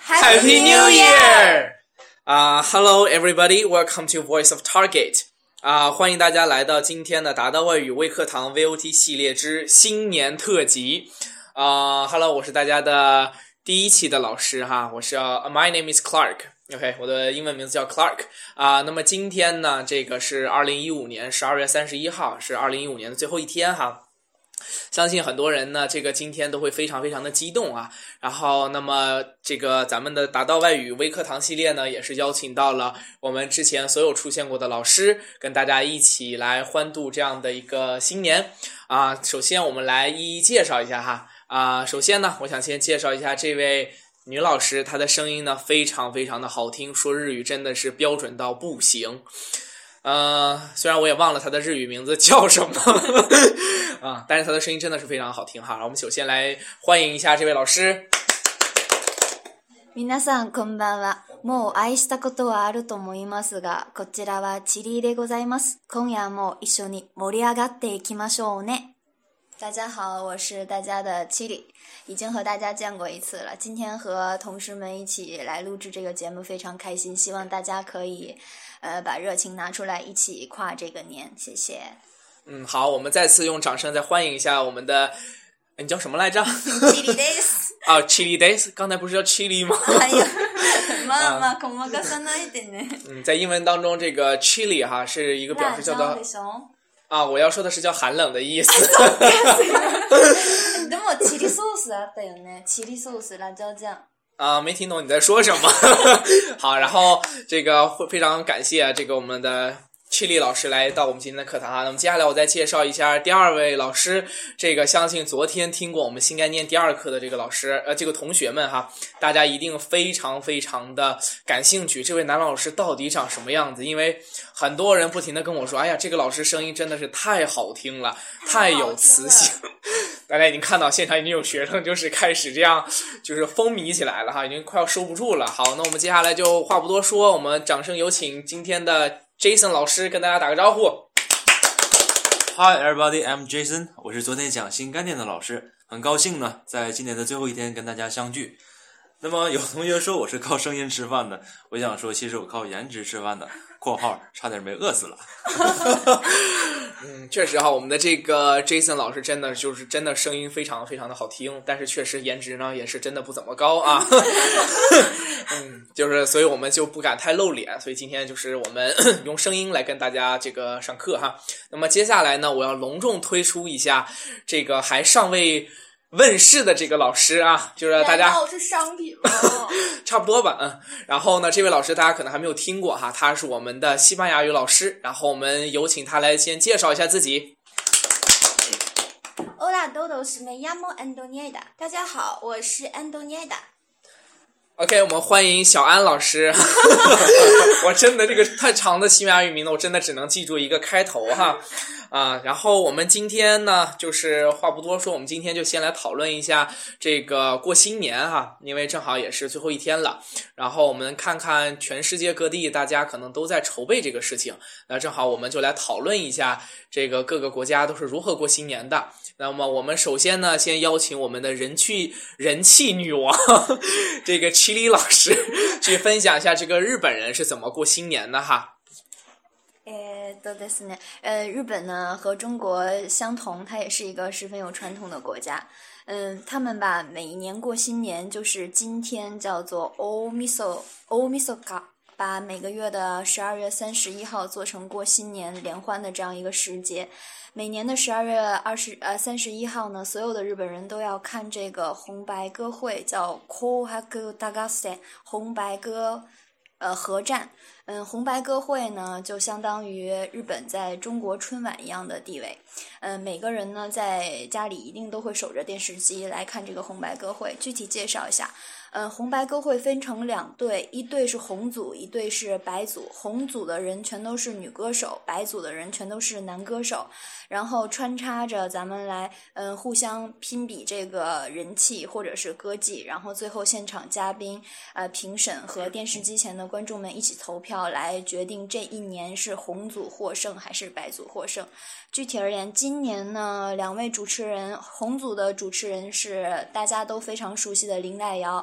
Happy New Year! Hello everybody, welcome to Voice of Target. 欢迎大家来到今天的达到外语微课堂 VOT 系列之新年特辑。Hello， 我是大家的第一期的老师哈，我是My name is Clark。OK， 我的英文名字叫 Clark 那么今天呢，这个是2015年12月31号，是2015年的最后一天哈。相信很多人呢，这个今天都会非常非常的激动啊。然后，那么这个咱们的达到外语微课堂系列呢，也是邀请到了我们之前所有出现过的老师，跟大家一起来欢度这样的一个新年首先我们来一一介绍一下哈首先呢，我想先介绍一下这位女老师，她的声音呢非常非常的好听，说日语真的是标准到不行。虽然我也忘了他的日语名字叫什么但是他的声音真的是非常好听哈。我们首先来欢迎一下这位老师。 皆さんこんばんは。もう愛したことはあると思いますが、こちらはチリでございます。今夜も一緒に盛り上がっていきましょうね。大家好，我是大家的七里，已经和大家见过一次了。今天和同事们一起来录制这个节目，非常开心，希望大家可以把热情拿出来，一起跨这个年，谢谢。 好，我们再次用掌声再欢迎一下我们的，你叫什么来着 ？Chili Days。 Chili Days， 刚才不是叫 Chili 吗？ まあ細かさないでね。 在英文当中，这个 Chili 哈是一个表示叫做我要说的是叫寒冷的意思。 でもチリソースあったよね。チリソース辣椒酱。 没听懂你在说什么。好，然后这个非常感谢这个我们的Chili 老师来到我们今天的课堂那么接下来我再介绍一下第二位老师，这个相信昨天听过我们新概念第二课的这个老师这个同学们哈，大家一定非常非常的感兴趣，这位男老师到底长什么样子？因为很多人不停的跟我说，哎呀，这个老师声音真的是太好听了，太有磁性。大家已经看到现场已经有学生就是开始这样就是风靡起来了哈，已经快要收不住了。好，那我们接下来就话不多说，我们掌声有请今天的Jason 老师跟大家打个招呼。 Hi everybody, I'm Jason， 我是昨天讲新概念的老师，很高兴呢在今年的最后一天跟大家相聚。那么有同学说我是靠声音吃饭的，我想说其实我靠颜值吃饭的，括号差点没饿死了。 确实哈，我们的这个 Jason 老师真的声音非常非常的好听，但是确实颜值呢也是真的不怎么高啊。就是所以我们就不敢太露脸，所以今天就是我们用声音来跟大家这个上课哈。那么接下来呢，我要隆重推出一下这个还尚未问世的这个老师就是大家是商品吗？ 差不多吧然后呢，这位老师大家可能还没有听过哈，他是我们的西班牙语老师，然后我们有请他来先介绍一下自己。 Hola todos, me llamo Antonieta。大家好，我是 Antonieta。 OK， 我们欢迎小安老师。我真的这个太长的西班牙语名字，我真的只能记住一个开头哈。然后我们今天呢，就是话不多说，我们今天就先来讨论一下这个过新年哈，因为正好也是最后一天了。然后我们看看全世界各地大家可能都在筹备这个事情，那正好我们就来讨论一下这个各个国家都是如何过新年的。那么我们首先呢，先邀请我们的人气女王这个Chili老师去分享一下这个日本人是怎么过新年的哈。 ですね。日本呢和中国相同，它也是一个十分有传统的国家。他们吧每一年过新年就是今天叫做大晦日，把每个月的12月31号做成过新年联欢的这样一个时节。每年的12月31号呢，所有的日本人都要看这个红白歌会，叫紅白歌合戦，红白歌合战。红白歌会呢就相当于日本在中国春晚一样的地位。每个人呢在家里一定都会守着电视机来看这个红白歌会。具体介绍一下，红白歌会分成两队，一队是红组，一队是白组。红组的人全都是女歌手，白组的人全都是男歌手，然后穿插着咱们来互相拼比这个人气或者是歌技，然后最后现场嘉宾评审和电视机前的观众们一起投票来决定这一年是红组获胜还是白组获胜。具体而言，今年呢两位主持人，红组的主持人是大家都非常熟悉的林黛瑶，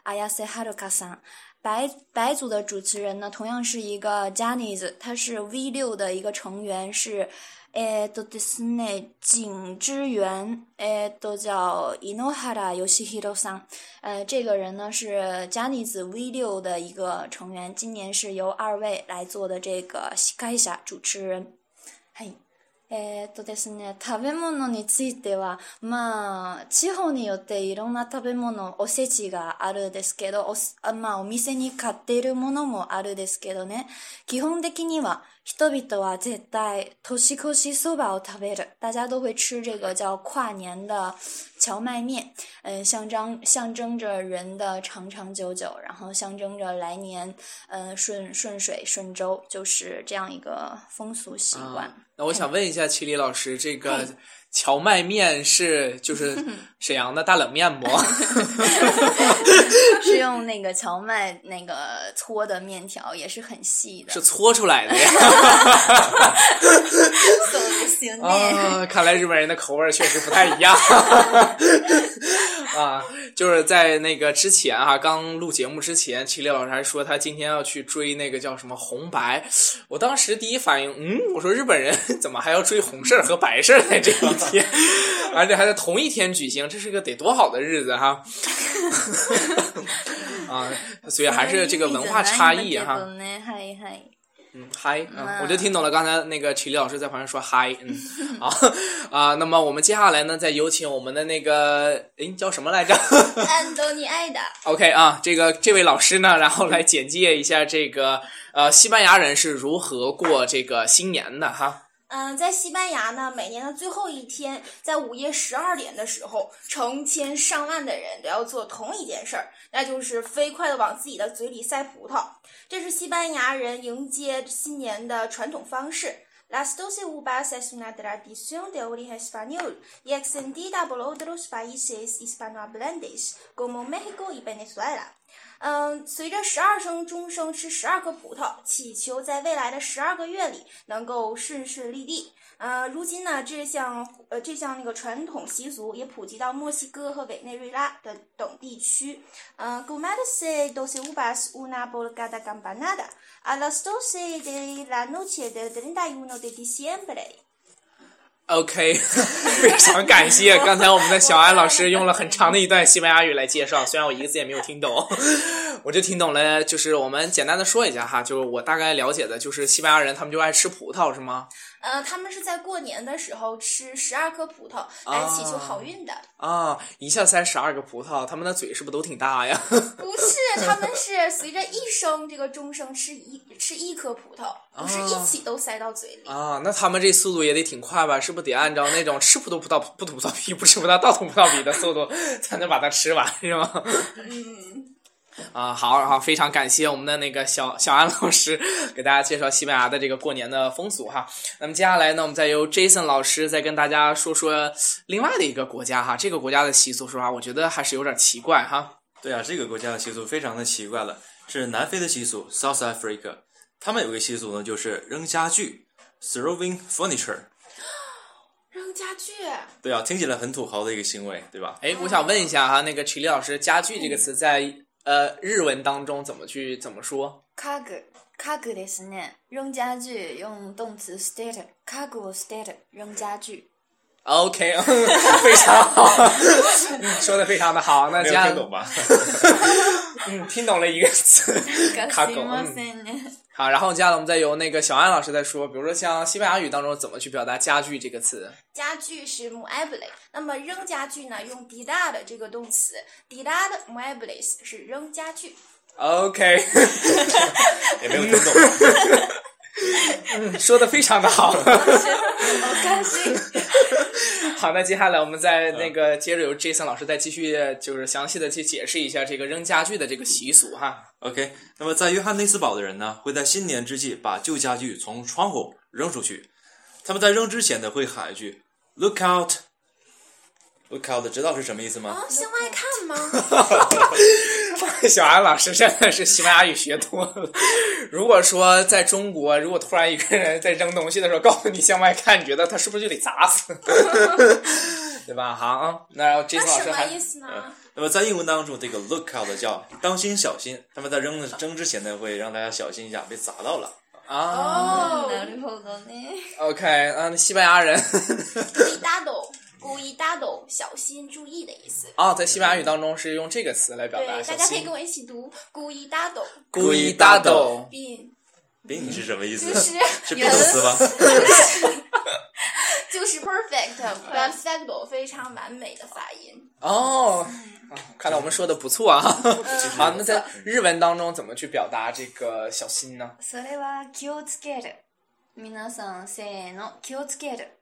Ayase Haruka さん。白组的主持人呢，同样是一个 Johnny's， 他是 V6 的一个成员，是ですね景之源叫 Inohara Yoshihiro さん。这个人呢是 Johnny's V6 的一个成员，今年是由2位来做的这个司会者主持人。はいですね、食べ物については、地方によっていろんな食べ物、おせちがあるんですけど、お店に買っているものもあるんですけどね、基本的には人々は絶対年越しそばを食べる。大家都会吃这个叫跨年的荞麦面，象征着人的长长久久，然后象征着来年顺水顺周，就是这样一个风俗习惯。 那我想问一下齐李老师，这个荞麦面是就是沈阳的大冷面不？ 是用那个荞麦那个搓的面条，也是很细的， 是搓出来的呀。看来日本人的口味确实不太一样。就是在那个之前刚录节目之前，齐李老师还说他今天要去追那个叫什么红白。我当时第一反应，我说日本人怎么还要追红事和白事在这一天，而且还在同一天举行，这是个得多好的日子哈。所以还是这个文化差异哈。嗨，我就听懂了刚才那个齐李老师在旁边说嗨，那么我们接下来呢，再有请我们的那个叫什么来着？ 安东尼艾达。 OK 这位老师呢，然后来简介一下这个西班牙人是如何过这个新年的哈。 在西班牙呢，每年的最后一天，在午夜12点的时候，成千上万的人都要做同一件事儿，那就是飞快地往自己的嘴里塞葡萄。这是西班牙人迎接新年的传统方式。Las 12 uvas es una tradición de origen español y extendida por otros países hispanohablantes como México y Venezuela。随着12声钟声吃12颗葡萄，祈求在未来的12个月里能够顺顺利利。如今呢，这项那个传统习俗也普及到墨西哥和委内瑞拉的等地区。Comerse 12 uvas una por cada campanada a las 12 de la noche del 31 de diciembre。OK， 非常感谢刚才我们的小安老师用了很长的一段西班牙语来介绍，虽然我一个字也没有听懂，我就听懂了。就是我们简单的说一下哈，就是我大概了解的就是西班牙人他们就爱吃葡萄是吗？ 他们是在过年的时候吃12颗葡萄来祈求好运的。 一下塞12个葡萄，他们的嘴是不是都挺大呀？ 不是，他们是随着一声这个钟声吃一颗葡萄，不是一起都塞到嘴里。 那他们这速度也得挺快吧？是不是得按照那种吃葡萄不吐葡萄皮，不吃葡萄倒吐葡萄皮的速度才能把它吃完，是吗？好，非常感谢我们的那个小安老师给大家介绍西班牙的这个过年的风俗哈。那么接下来呢，我们再由 Jason 老师再跟大家说说另外的一个国家哈。这个国家的习俗说实话，我觉得还是有点奇怪哈。 对啊，这个国家的习俗非常的奇怪了，是南非的习俗 South Africa。他们有个习俗呢，就是扔家具 throwing furniture。 扔家具？ 对啊，听起来很土豪的一个行为，对吧？ 我想问一下哈，那个曲丽老师，家具这个词在日文当中怎么说？ 家具ですね。扔家具用动词 捨てる，家具を捨てる，扔家具。 OK， 非常好，说的非常的好。那没有听懂吧？ 听懂了一个词，卡狗。好，然后接下来我们再由那个小安老师再说，比如说像西班牙语当中怎么去表达家具这个词。 家具是 mueble， 那么扔家具呢用 tirar 的这个动词 tirar muebles 是扔家具。 OK， 也没有听懂。 说的非常的好， 好开心。 好，那接下来我们再那个接着由 Jason 老师再继续就是详细的去解释一下这个扔家具的这个习俗哈。 OK， 那么在约翰内斯堡的人呢，会在新年之际把旧家具从窗户扔出去。他们在扔之前呢，会喊一句 "Look out"。Look out， 知道是什么意思吗？ 向外看吗？ 小安老师真的是西班牙语学多了。如果说在中国，如果突然一个人在扔东西的时候告诉你向外看，你觉得他是不是就得砸死？ 对吧？好，那Jason 那什么老师还意思呢？ 那么在英文当中，这个 look out 叫当心小心，他们在扔之前呢，会让大家小心一下，别砸到了。 啊なるほどね。 ，OK，西班牙人 cuidado，小心注意的意思。 在西班牙语当中是用这个词来表达对， 小心大家可以跟。我一起读 cuidado， Cuidado， 宾是什么意思？ 就是是 be 动词吗？ 就是 perfect 非常完美的发音。 哦，看来我们说的不错啊。好，那在日文当中怎么去表达这个小心呢？ それは気をつける。皆さんせーの気をつける。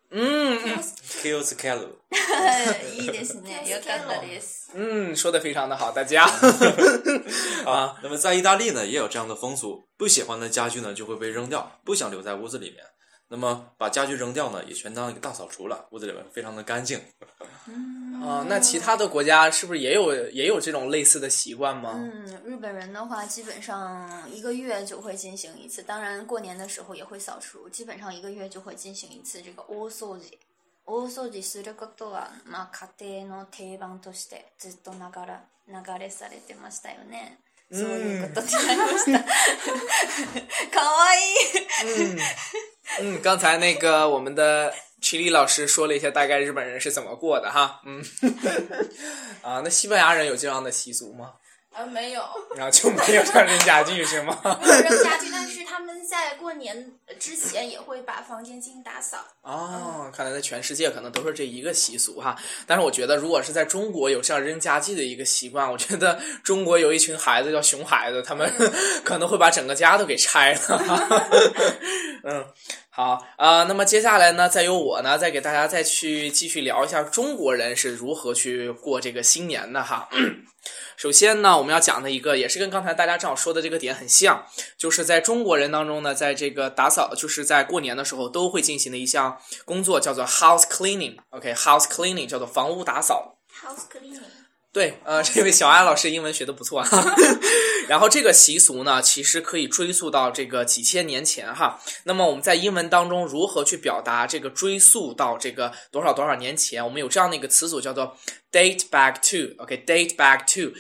Kill the cattle。 いいですね。よかったです。 说的非常的好，大家。 啊，那么在意大利呢，也有这样的风俗，不喜欢的家具呢就会被扔掉，不想留在屋子里面。那么把家具扔掉呢，也全当一个大扫除了，屋子里面非常的干净。 那其他的国家是不是也有这种类似的习惯吗？ 日本人的话，基本上1个月就会进行一次，当然过年的时候也会扫除，基本上1个月就会进行一次这个大掃除。大掃除することは、家庭の定番としてずっと流れされてましたよね。そういうことになりました。かわいい。 刚才那个我们的曲丽老师说了一下大概日本人是怎么过的哈。那西班牙人有这样的习俗吗？ 没有， 然后就没有这样扔家具是吗？ 没有扔家具，但是他们在过年之前也会把房间进行打扫。 看来在全世界可能都是这一个习俗哈。但是我觉得，如果是在中国有这样扔家具的一个习惯，我觉得中国有一群孩子叫熊孩子，他们可能会把整个家都给拆了。好那么接下来呢，再由我呢，再给大家再去继续聊一下中国人是如何去过这个新年的哈。首先呢，我们要讲的一个也是跟刚才大家正好说的这个点很像，就是在中国人当中呢，在这个打扫，就是在过年的时候都会进行的一项工作，叫做 house cleaning。house cleaning 叫做房屋打扫。 house cleaning。 对，这位小安老师英文学的不错哈。然后这个习俗呢，其实可以追溯到这个几千年前哈。那么我们在英文当中如何去表达这个追溯到这个多少多少年前？我们有这样的一个词组叫做 date back to。date back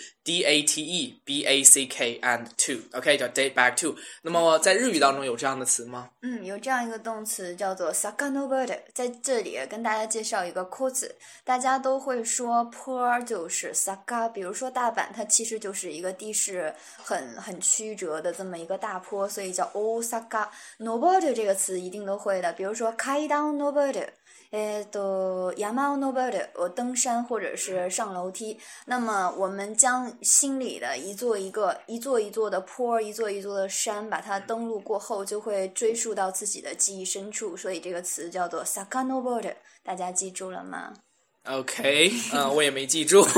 to。DATE BACK and to。叫 date back to。那么在日语当中有这样的词吗？ 有这样一个动词叫做 sakanoboru， 在这里跟大家介绍一个括字，大家都会说坡就是saka， 比如说大阪，它其实就是一个地势很曲折的这么一个大坡，所以叫 osaka。noboru 这个词一定都会的，比如说階段noboru。山を登る，我登山或者是上楼梯。那么我们将心里的一座一座的坡，一座一座的山，把它登陆过后，就会追溯到自己的记忆深处。所以这个词叫做sakanoboru，大家记住了吗 ？OK， 我也没记住。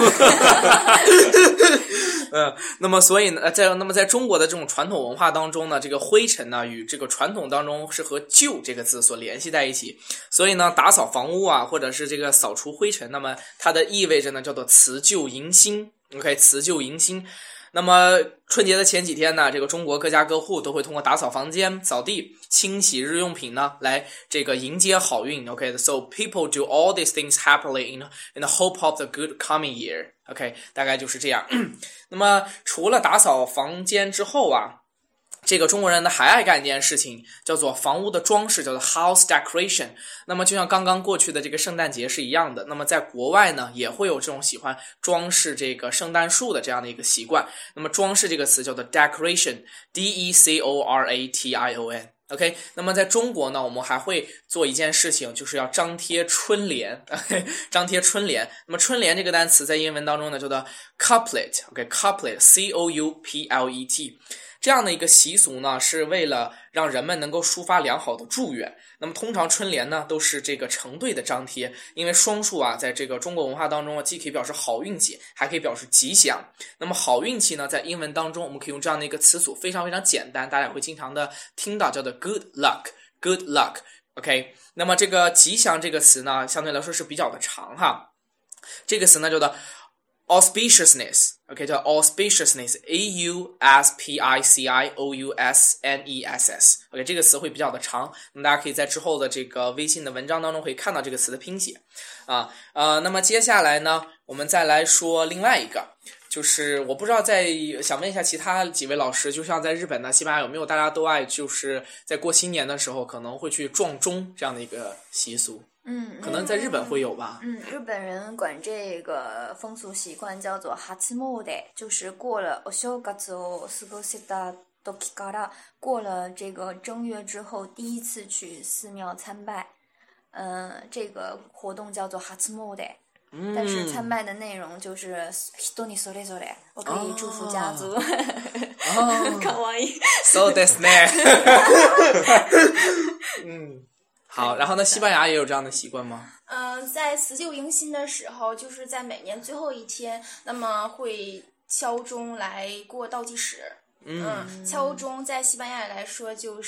那么所以呢，在中国的这种传统文化当中呢，这个灰尘呢与这个传统当中是和旧这个字所联系在一起，所以呢，打扫房屋啊，或者是这个扫除灰尘，那么它的意味着呢叫做辞旧迎新。OK， 辞旧迎新。那么春节的前几天呢，这个中国各家各户都会通过打扫房间、扫地、清洗日用品呢，来这个迎接好运。OK，so people do all these things happily in the hope of the good coming year。OK， 大概就是这样。那么除了打扫房间之后啊，这个中国人呢还爱干一件事情，叫做房屋的装饰，叫做 house decoration。那么就像刚刚过去的这个圣诞节是一样的，那么在国外呢也会有这种喜欢装饰这个圣诞树的这样的一个习惯。那么装饰这个词叫做 decoration， decoration。OK， 那么在中国呢，我们还会做一件事情，就是要张贴春联。张贴春联。那么春联这个单词在英文当中呢叫做 couplet。OK，couplet C-O-U-P-L-E-T。这样的一个习俗呢，是为了让人们能够抒发良好的祝愿。那么通常春联呢都是这个成对的张贴，因为双数啊在这个中国文化当中既可以表示好运气，还可以表示吉祥。那么好运气呢，在英文当中我们可以用这样的一个词组，非常非常简单，大家也会经常的听到，叫做 good luck。OK， 那么这个吉祥这个词呢相对来说是比较的长哈。这个词呢叫做 auspiciousness，OK，叫 auspiciousness，auspiciousness，OK，这个词会比较的长，那么大家可以在之后的这个微信的文章当中可以看到这个词的拼写那么接下来呢，我们再来说另外一个。就是我不知道想问一下其他几位老师，就像在日本呢、西班牙有没有大家都爱就是在过新年的时候可能会去撞钟这样的一个习俗？可能在日本会有吧。 日本人管这个风俗习惯叫做初詣，就是过了お正月を過ごした時から，过了这个正月之后第一次去寺庙参拜，这个活动叫做初詣。但是参拜的内容就是人にそれぞれ，我可以祝福家族。かわいい。 そうですね。好，然后呢，西班牙也有这样的习惯吗？ 在辞旧迎新的时候，就是在每年最后一天，那么会敲钟来过倒计时。敲钟在西班牙来说就是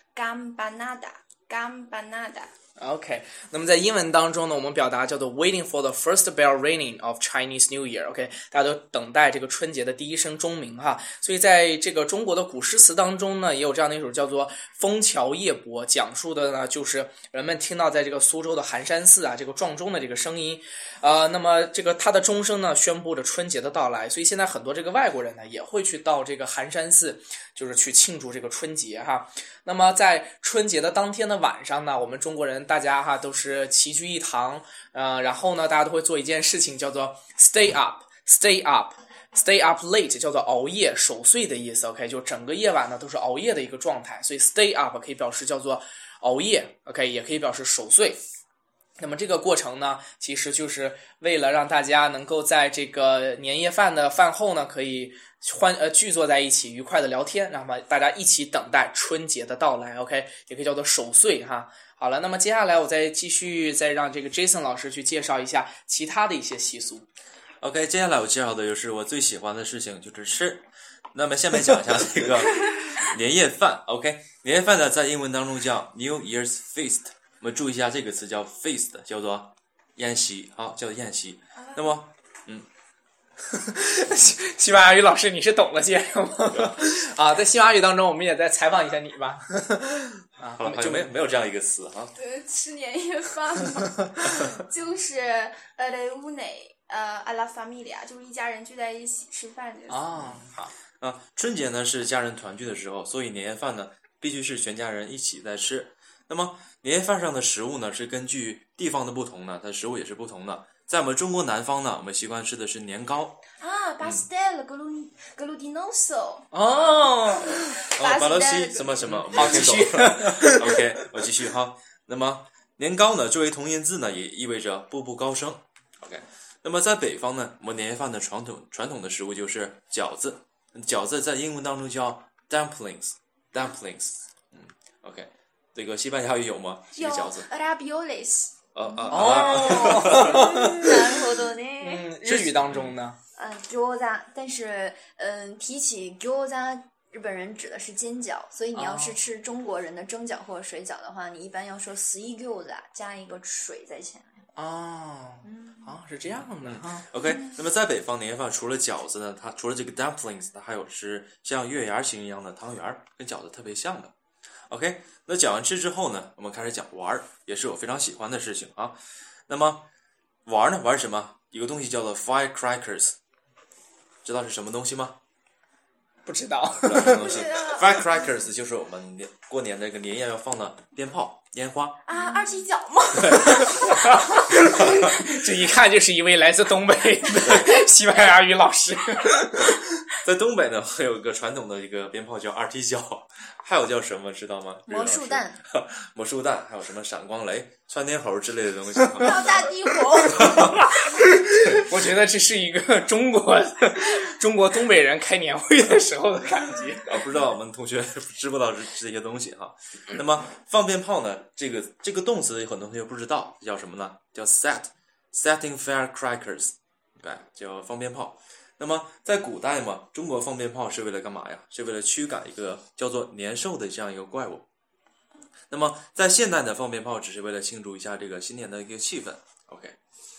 campanada。OK， 那么在英文当中呢，我们表达叫做 waiting for the first bell ringing of Chinese New Year。OK， 大家都等待这个春节的第一声钟鸣哈。所以在这个中国的古诗词当中呢，也有这样的一首叫做《枫桥夜泊》，讲述的呢就是人们听到在这个苏州的寒山寺这个撞钟的这个声音。那么这个它的钟声呢，宣布着春节的到来。所以现在很多这个外国人呢，也会去到这个寒山寺，就是去庆祝这个春节哈。那么在春节的当天的晚上呢，我们中国人大家都是齐聚一堂，然后呢，大家都会做一件事情，叫做 stay up late， 叫做熬夜、守岁的意思。OK， 就整个夜晚呢都是熬夜的一个状态，所以 stay up 可以表示叫做熬夜 ，OK， 也可以表示守岁。那么这个过程呢，其实就是为了让大家能够在这个年夜饭的饭后呢，可以聚坐在一起，愉快的聊天，让大家一起等待春节的到来。OK， 也可以叫做守岁哈。好了，那么接下来我再让这个 Jason 老师去介绍一下其他的一些习俗。 OK， 接下来我介绍的就是我最喜欢的事情，就是吃。那么下面讲一下这个年夜饭。OK， 年夜饭呢在英文当中叫 New Year's Feast。我们注意一下这个词叫 feast， 叫做宴席，叫做宴席。那么， 西班牙语老师你是懂了些吗？在西班牙语当中，我们也再采访一下你吧。 好了，就没有这样一个词哈。 吃年夜饭嘛，就是reúne a la familia， 就是一家人聚在一起吃饭这个。 好春节呢是家人团聚的时候，所以年夜饭呢必须是全家人一起在吃。那么年夜饭上的食物呢，是根据地方的不同呢，它食物也是不同的。在我们中国南方呢，我们习惯吃的是年糕。 pastel glutinoso。 巴洛西什么什么， 好，继续。 OK， 我继续哈。那么年糕呢，作为同音字呢，也意味着步步高升。OK， 那么在北方呢，我们年夜饭的传统的食物就是饺子。饺子在英文当中叫 dumplings。OK。这个西班牙语有吗？ 有饺子 raviolis。 なるほどね。 日语当中呢？ 餃子，但是提起餃子，日本人指的是煎饺，所以你要是吃中国人的蒸饺或者水饺的话，你一般要说水餃子，加一个水在前面。 是这样的 OK， 那么在北方年夜饭除了饺子呢，它除了这个 dumplings， 它还有是像月牙形一样的汤圆，跟饺子特别像的。OK， 那讲完吃之后呢，我们开始讲玩，也是我非常喜欢的事情啊。那么玩呢，玩什么？有个东西叫做 firecrackers， 知道是什么东西吗？ 不知道。 什么东西？firecrackers 就是我们过年那个年夜要放的鞭炮、烟花二踢脚吗？ 这一看就是一位来自东北的西班牙语老师。 在东北呢，还有一个传统的一个鞭炮叫二踢脚，还有叫什么知道吗？ 魔术弹。 魔术弹，还有什么闪光雷、窜天猴之类的东西。 还有大地火。 我觉得这是一个中国东北人开年会的时候的感觉。 不知道我们同学知不知道这些东西哈？那么放鞭炮呢，这个动词很多同学不知道叫什么呢？叫 setting firecrackers， 对，叫放鞭炮。那么在古代嘛，中国放鞭炮是为了干嘛呀？是为了驱赶一个叫做年兽的这样一个怪物。那么在现代的放鞭炮只是为了庆祝一下这个新年的一个气氛。OK，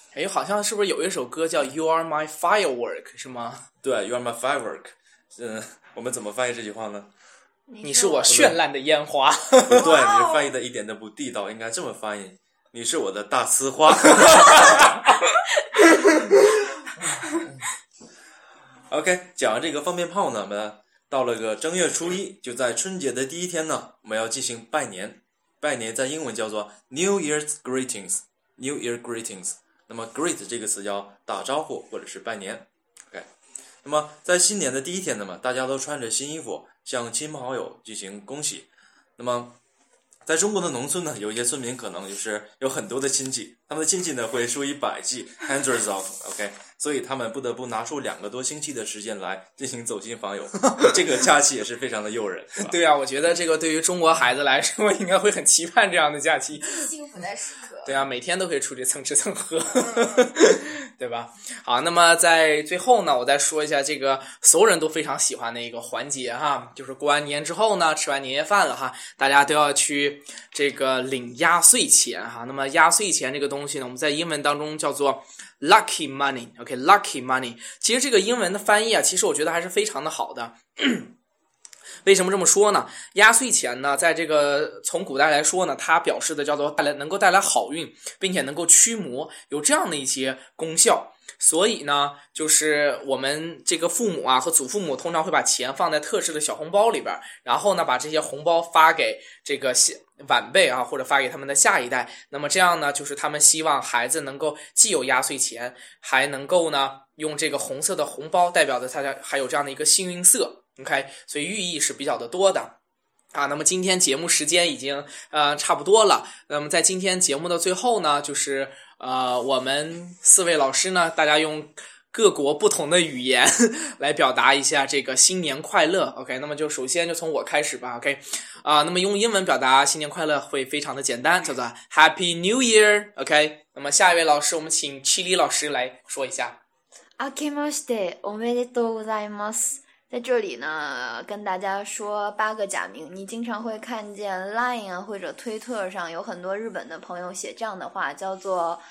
哎，好像是不是有一首歌叫 You Are My Firework 是吗？ 对 ，You are my firework。我们怎么翻译这句话呢？ 你是我绚烂的烟花。 不对，你这翻译的一点都不地道，应该这么翻译：你是我的大呲花。OK， 讲完这个放鞭炮呢，我们到了个正月初一，就在春节的第一天呢，我们要进行拜年。拜年在英文叫做 New Year's Greetings。New Year Greetings。那么 greet 这个词叫打招呼或者是拜年。OK， 那么在新年的第一天呢，大家都穿着新衣服，向亲朋好友进行恭喜。那么在中国的农村呢，有一些村民可能就是有很多的亲戚，他们的亲戚呢会数以百计 hundreds of，OK， 所以他们不得不拿出2个多星期的时间来进行走亲访友。这个假期也是非常的诱人。 对啊，我觉得这个对于中国孩子来说，应该会很期盼这样的假期。 幸福的时刻。 对啊，每天都可以出去蹭吃蹭喝，对吧？好，那么在最后呢，我再说一下这个所有人都非常喜欢的一个环节哈，就是过完年之后呢，吃完年夜饭了哈，大家都要去这个领压岁钱哈。那么压岁钱这个东西呢，我们在英文当中叫做 lucky money，OK，lucky money。其实这个英文的翻译啊，其实我觉得还是非常的好的。为什么这么说呢？压岁钱呢，在这个从古代来说呢，它表示的叫做能够带来好运，并且能够驱魔，有这样的一些功效。所以呢，就是我们这个父母啊和祖父母通常会把钱放在特制的小红包里边，然后呢把这些红包发给这个晚辈啊，或者发给他们的下一代。那么这样呢，就是他们希望孩子能够既有压岁钱，还能够呢用这个红色的红包代表着他还有这样的一个幸运色。OK， 所以寓意是比较的多的啊。那么今天节目时间已经差不多了。那么在今天节目的最后呢，就是我们4位老师呢，大家用各国不同的语言来表达一下这个新年快乐。OK， 那么就首先就从我开始吧。OK， 那么用英文表达新年快乐会非常的简单，叫做 Happy New Year。OK， 那么下一位老师，我们请Chili老师来说一下。 明けましておめでとうございます。在这里呢，跟大家说8个假名。你经常会看见 Line 啊或者推特上有很多日本的朋友写这样的话，叫做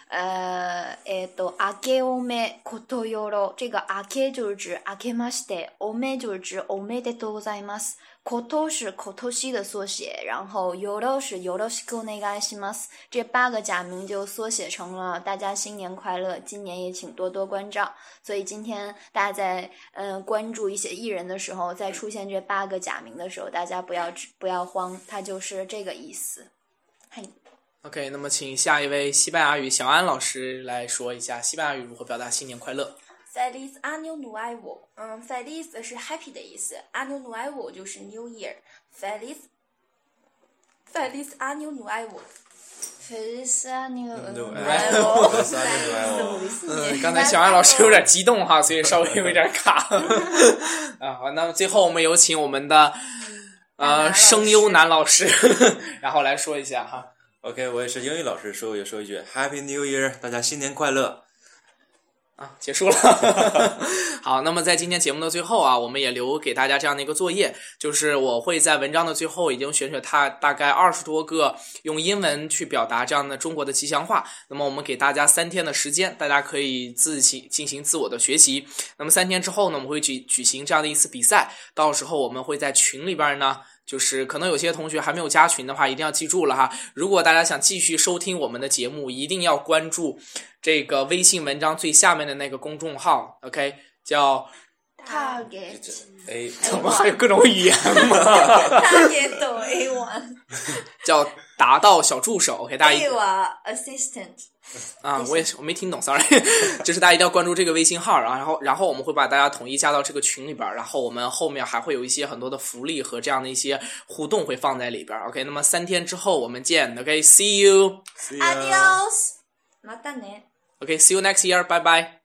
明けおめことよろ。这个明け就是指明けまして，おめ就是指おめでとうございます。こと是ことし的缩写，然后よろ是よろしくお願いします。这8个假名就缩写成了大家新年快乐，今年也请多多关照。所以今天大家在关注一些艺人的时候，在出现这8个假名的时候，大家不要慌，它就是这个意思。嘿。 OK， 那么请下一位西班牙语小安老师来说一下西班牙语如何表达新年快乐。 Feliz Año Nuevo，Feliz 是 happy 的意思 ，Año Nuevo 就是 New Year。Feliz Año Nuevo。Feliz Año Nuevo。 刚才小安老师有点激动哈，所以稍微有点卡。好，那么最后我们有请我们的声优男老师，然后来说一下哈。 OK， 我也是英语老师，也说一句 Happy New Year， 大家新年快乐。 结束了。好，那么在今天节目的最后啊，我们也留给大家这样的一个作业，就是我会在文章的最后已经选取它大概20多个用英文去表达这样的中国的吉祥话。那么我们给大家3天的时间，大家可以进行自我的学习。那么3天之后呢，我们会举行这样的一次比赛，到时候我们会在群里边呢，就是可能有些同学还没有加群的话，一定要记住了哈。如果大家想继续收听我们的节目，一定要关注这个微信文章最下面的那个公众号 ，OK， 叫 Target。 怎么还有各种语言吗 ？Target A1 叫达到小助手 ，OK， 大家 A1 Assistant。 我没听懂 ，sorry， 就是大家一定要关注这个微信号，然后我们会把大家统一加到这个群里边，然后我们后面还会有一些很多的福利和这样的一些互动会放在里边 ，OK， 那么3天之后我们见 ，OK，See you， Adios，またね。 OK，See you next year， 拜拜。